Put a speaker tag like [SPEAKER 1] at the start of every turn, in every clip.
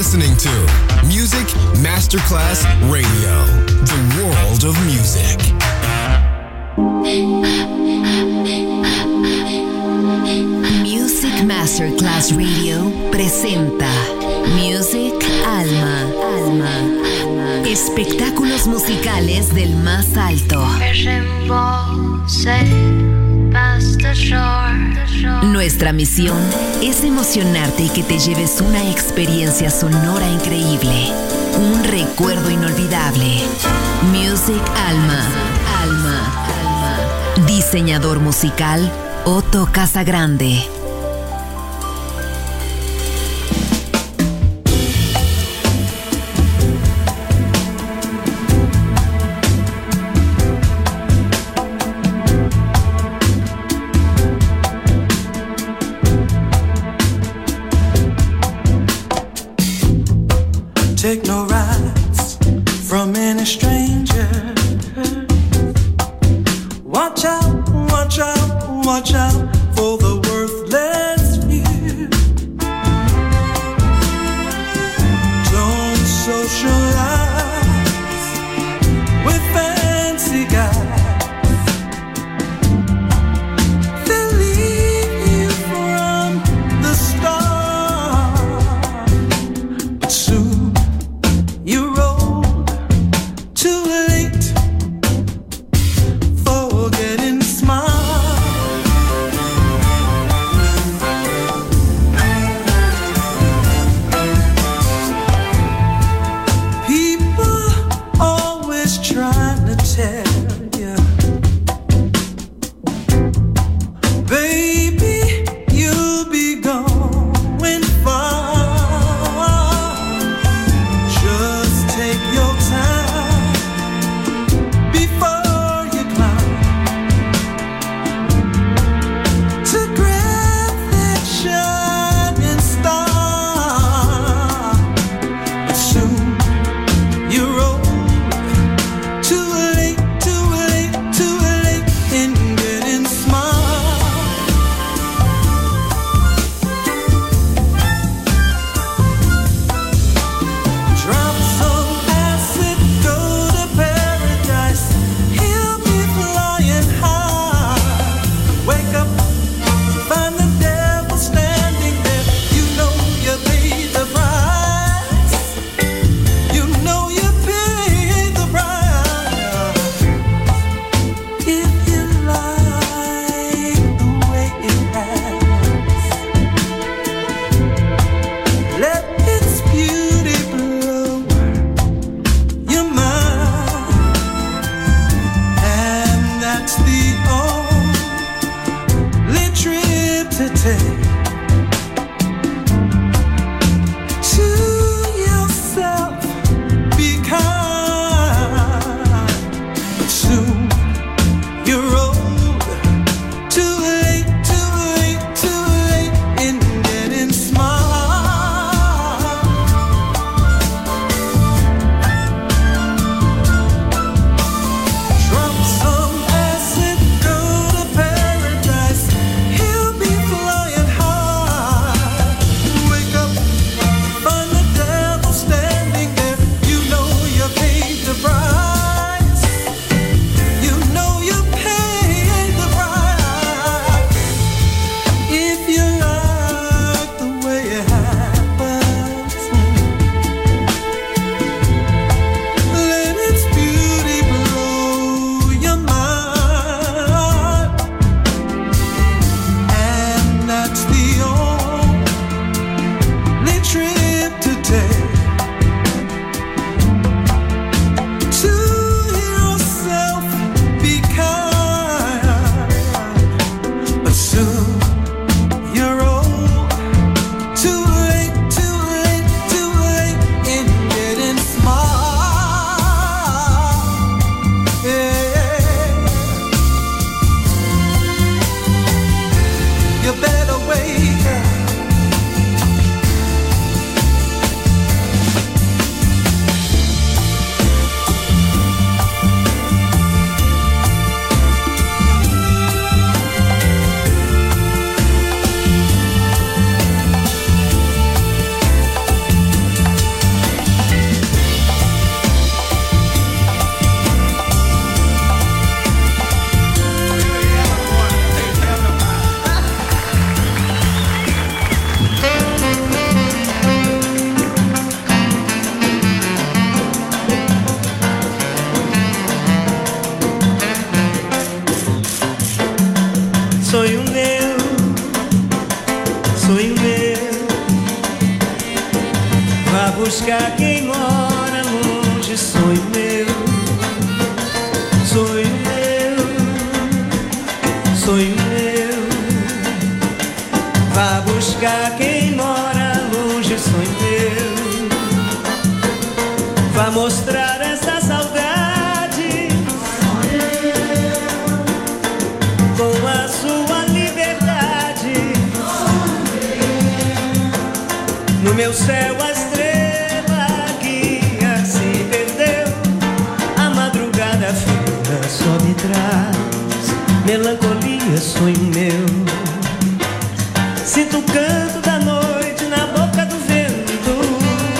[SPEAKER 1] listening to Music Masterclass Radio, the world of music.
[SPEAKER 2] Music Masterclass Radio presenta Music Alma. Espectáculos musicales del más alto. Nuestra misión es emocionarte y que te lleves una experiencia sonora increíble, un recuerdo inolvidable. Music Alma. Diseñador musical Otto Casagrande.
[SPEAKER 3] Take no rides from any stranger. Watch out, watch out, watch out for the worthless few. Don't socialize with fancy guys. They'll leave you from the start. But soon you rolled too late for getting smart. Vá buscar quem mora longe, sonho meu, sonho meu, sonho meu. Vá buscar quem mora longe, sonho meu. Vá mostrar essa saudade com a sua liberdade. No meu céu a estrela guia se perdeu. A madrugada fria só me traz melancolia, sonho meu. Sinto o canto da noite na boca do vento,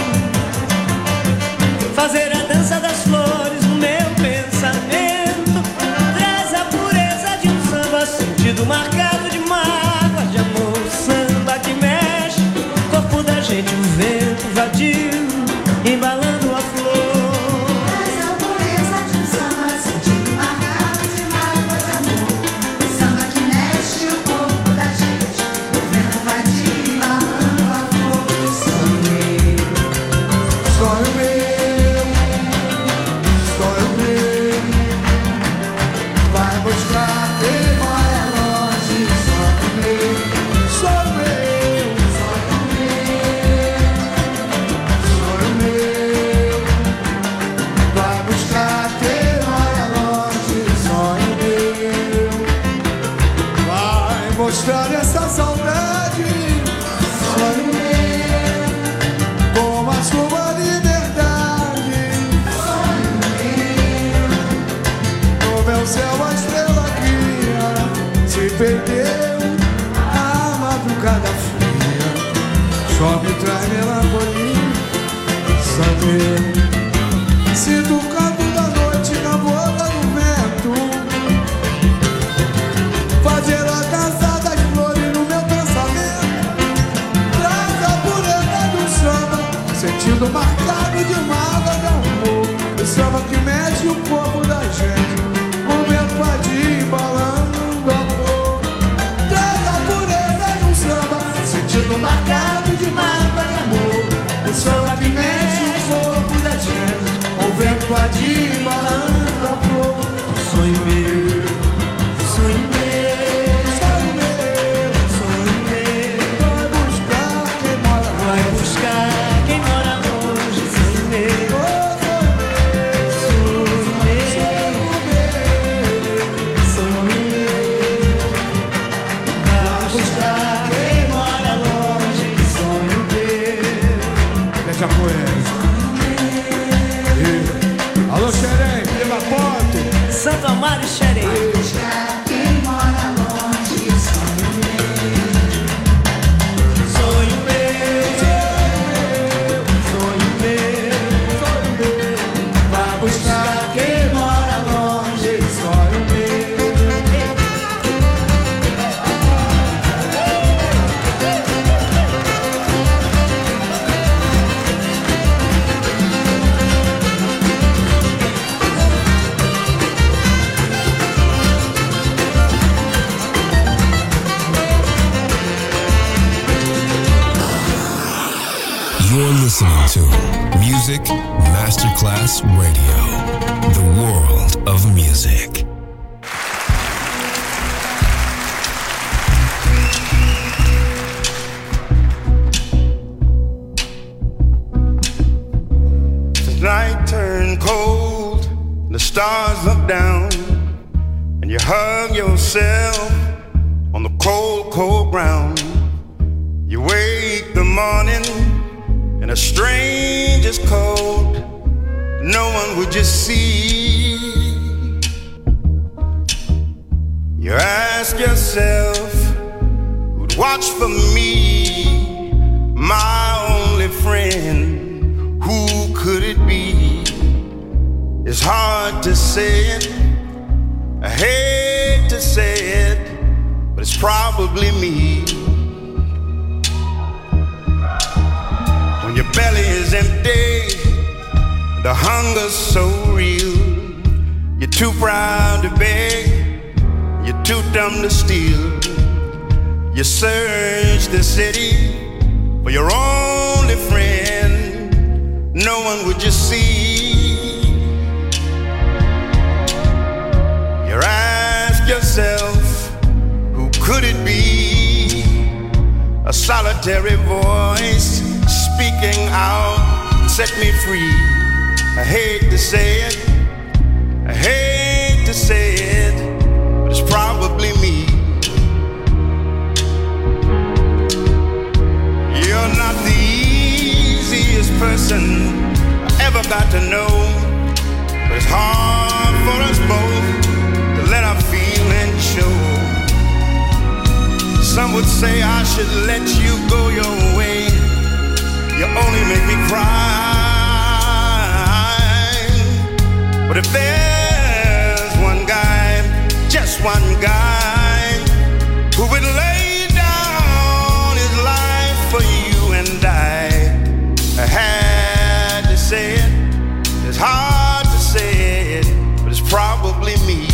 [SPEAKER 3] fazer a dança das flores no meu pensamento. Traz a pureza de um samba, sentido marcado de mágoa, de amor. Samba que mexe o corpo da gente, o vento vadio embalando a flor.
[SPEAKER 4] Traz a pureza de um samba, sentido marcado de mágoa, de amor. Samba que mexe o corpo da gente, o vento vadio embalando a flor. Sonho meu,
[SPEAKER 5] Sonho meu, sonho meu, vai buscar quem mora longe. Sonho meu, sonho meu, sonho meu, vai buscar quem mora longe. Sonho meu, vai mostrar essa saudade. Sonho meu, com a sua liberdade. No meu céu a estrela guia se perdeu. A madrugada fria só me traz melancolia. Saber sinto o canto da noite na boca do vento, fazer a dança das flores no meu pensamento. Traz a pureza do samba, sentido marcado de mágoa, de amor. O samba que mexe o corpo da gente, o vento vadio embalando a flor. Traz a pureza do samba, sentido marcado de mágoa, de amor. O samba que mexe o corpo da gente, o vento vadio embalando a flor.
[SPEAKER 3] Sonho meu, sonho meu,
[SPEAKER 5] Sonho meu,
[SPEAKER 3] sonho meu.
[SPEAKER 5] vai buscar quem mora longe.
[SPEAKER 3] Vai buscar quem mora longe, sonho meu, sonho meu, sonho meu. Vai buscar quem mora longe, sonho meu.
[SPEAKER 5] Deixa com ele. Alô, Xerém, Prima Ponto.
[SPEAKER 3] Santo Amaro e Xerém.
[SPEAKER 4] buscar quem mora longe. Sonho
[SPEAKER 3] Sonho meu, sonho meu. Vai buscar quem mora longe, sonho meu.
[SPEAKER 1] You're listening to Music Masterclass Radio, the world of music.
[SPEAKER 6] The night turned cold, the stars look down, and you hug yourself on the cold, cold ground. You wake the morning in a stranger's cold, no one would just see. You ask yourself, who'd watch for me, my only friend, who could it be? It's hard to say it, I hate to say it, but it's probably me. When your belly is empty, the hunger's so real, you're too proud to beg, you're too dumb to steal. You search the city for your only friend, one would you see? You ask yourself, who could it be? A solitary voice speaking out, set me free. I hate to say it, I hate to say it, but it's probably me. You're not the easiest person I ever got to know, but it's hard for us both to let our feelings show. Some would say I should let you go your way. You only make me cry. But if there's one guy, just one guy, who would lay down his life for you and I had to say it. It's hard to say it, but it's probably me.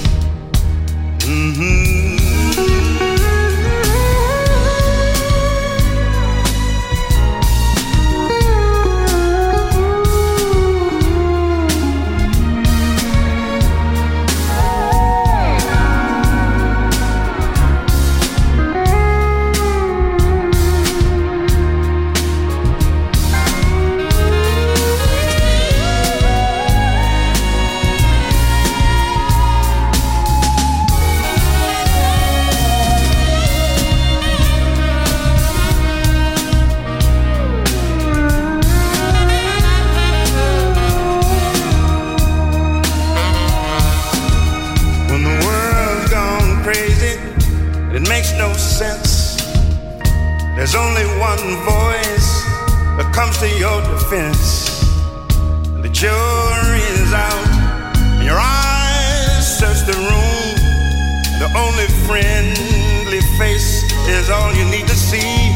[SPEAKER 6] There's only one voice that comes to your defense. The jury is out, and your eyes search the room. The only friendly face is all you need to see.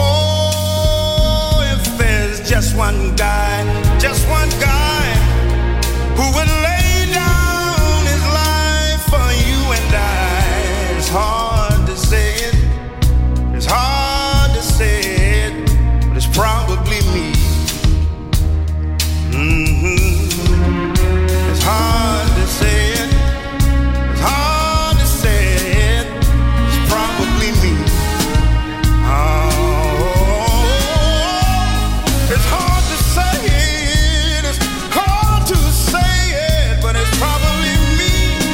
[SPEAKER 6] Oh, if there's just one guy who would lay down his life for you and I. It's hard to say it, it's hard to say it, but it's probably me. It's hard to say it, it's hard to say it, it's probably me. Oh, it's hard to say it, it's hard to say it, but it's probably me.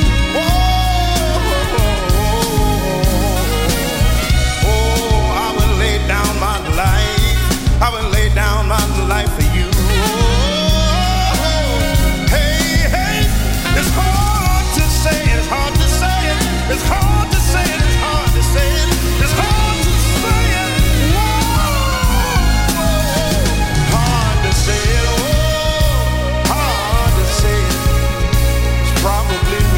[SPEAKER 6] I will lay down my life, I will lay down my life for you. It's hard to say it, it's hard to say it, it's hard to say it, it's hard to say it, it's hard to say it. Whoa, hard to say it, oh, hard to say it. It's probably me.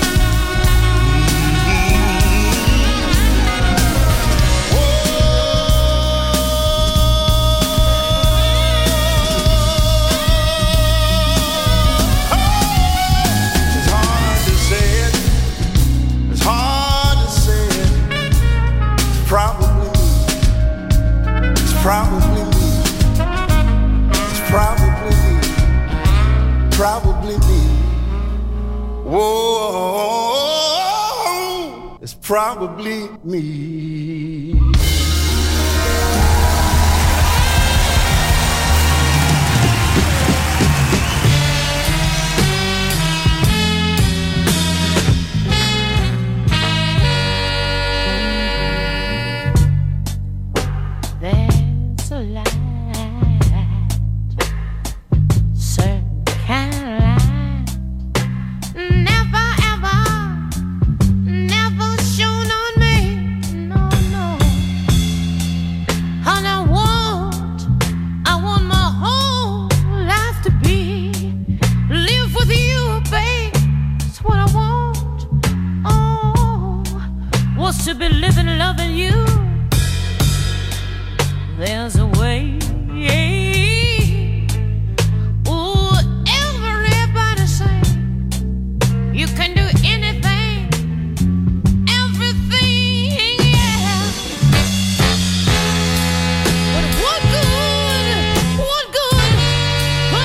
[SPEAKER 6] Probably me. It's probably me. Probably me. Whoa, it's probably me.
[SPEAKER 7] To be living, loving you. There's a way. Ooh, everybody say you can do anything, everything, yeah. But what good? Oh,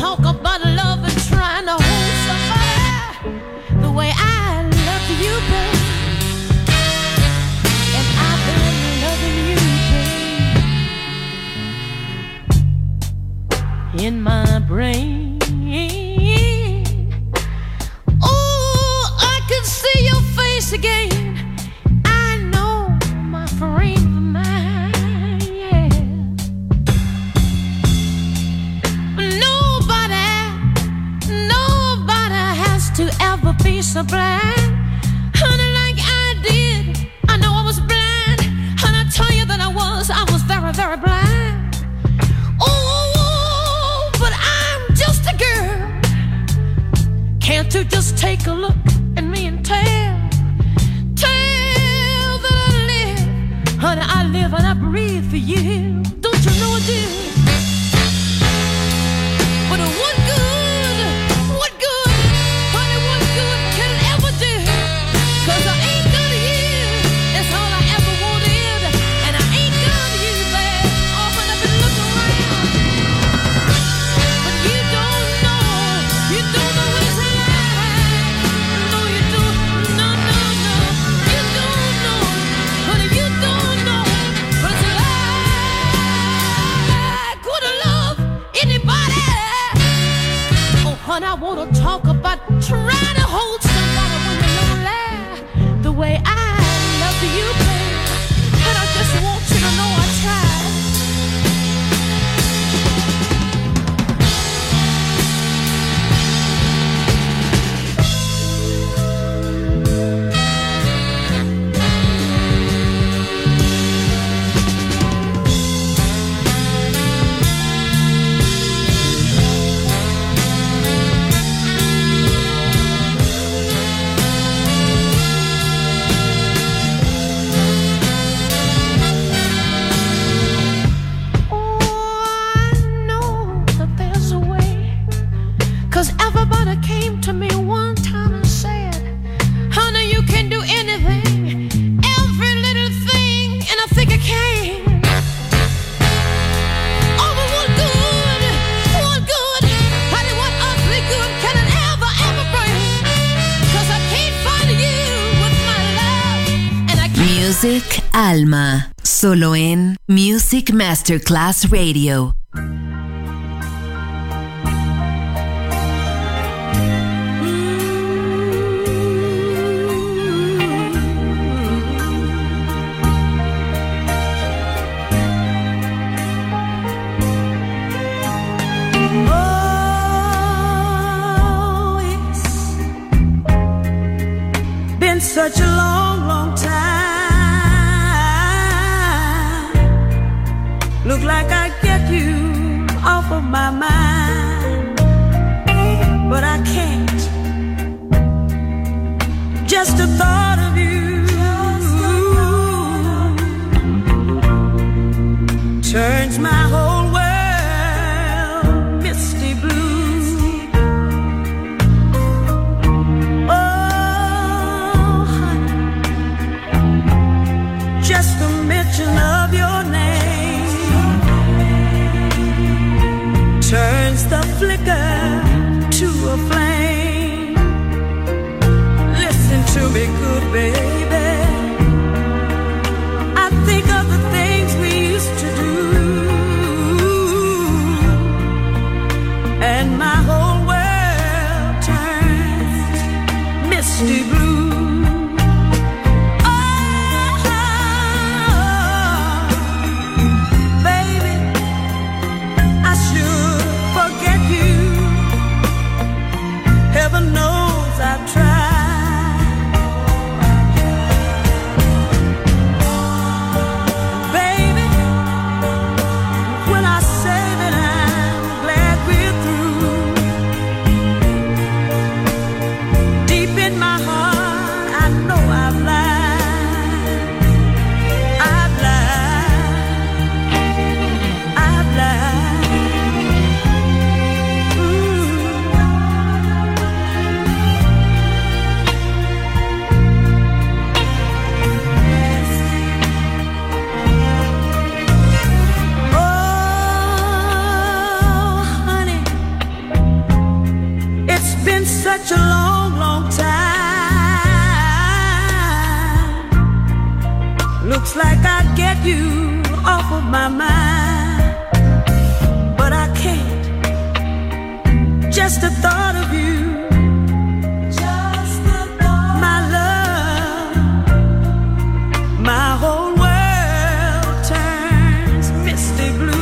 [SPEAKER 7] talk about love and trying to hold somebody the way I love you, babe. And I've been loving you, babe, in my brain. Oh, I can see your face again. I know my frame of mind, yeah. Nobody has to ever be so blind, honey, like I did. I know I was blind, and I tell you that I was very, very blind. Oh, but I'm just a girl. Can't you just take a look at me and tell that I live, honey, I live and I breathe for you. Don't you know I do? But what good, honey, what good can it ever do? 'Cause I ain't good to you, that's all I ever wanted. And I ain't good to you, babe, often I've been looking around. But you don't know it's like. No, you don't, no, you don't know, honey, you don't know what it's like. Could I love anybody? Oh, honey, I wanna talk about trying to hold somebody when you're lonely, the way I love you, babe. And I just want you to know I tried. Everybody came to me one time and said, honey, you can do anything, every little thing, and I think I can. Oh, but what good, honey, what awfully good can it ever bring? 'Cause I can't find you with my love, and I can't.
[SPEAKER 2] Music Alma, solo en Music Masterclass Radio.
[SPEAKER 3] Such a long, long time. Look like I get you off of my mind, but I can't. Just the thought of you turns my whole world misty blue. Just the mention of your name turns the flicker to a flame. Listen to me, good such a long, long time. Looks like I'd get you off of my mind, but I can't. Just the thought of you, my love, my whole world turns misty blue.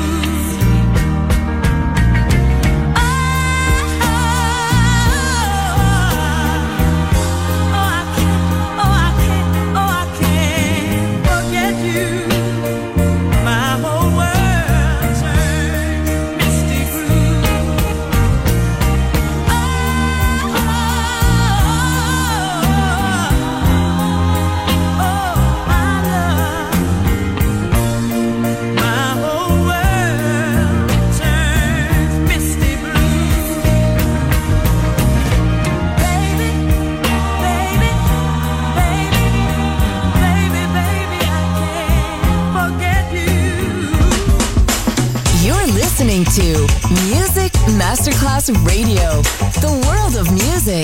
[SPEAKER 2] To Music Masterclass Radio, the world of music.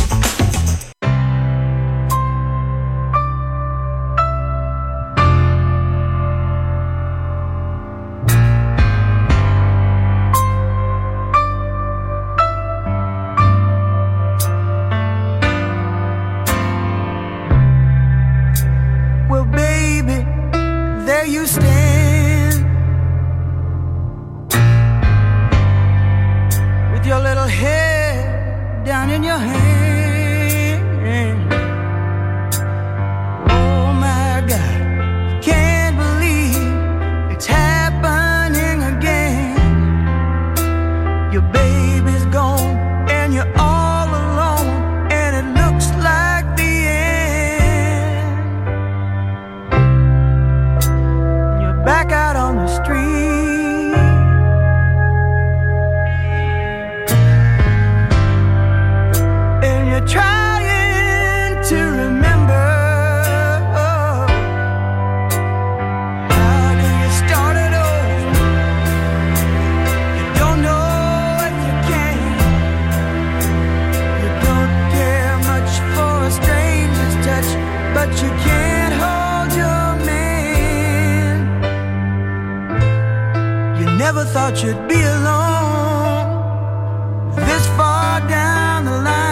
[SPEAKER 3] Well, baby, there you stand. Your little head down in your hand. Oh my God, can't believe it's happening again. Your baby's gone and you're all alone, and it looks like the end. You're back out on the street. Trying to remember, how do you start it over? You don't know if you can. You don't care much for a stranger's touch, but you can't hold your man. You never thought you'd be alone this far down the line.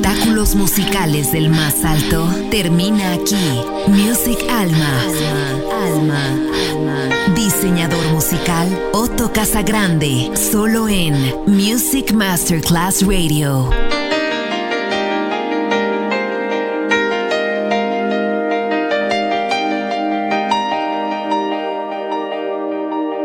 [SPEAKER 2] espectáculos musicales del más alto termina aquí. Music Alma. Diseñador musical Otto Casagrande, solo en Music Masterclass Radio.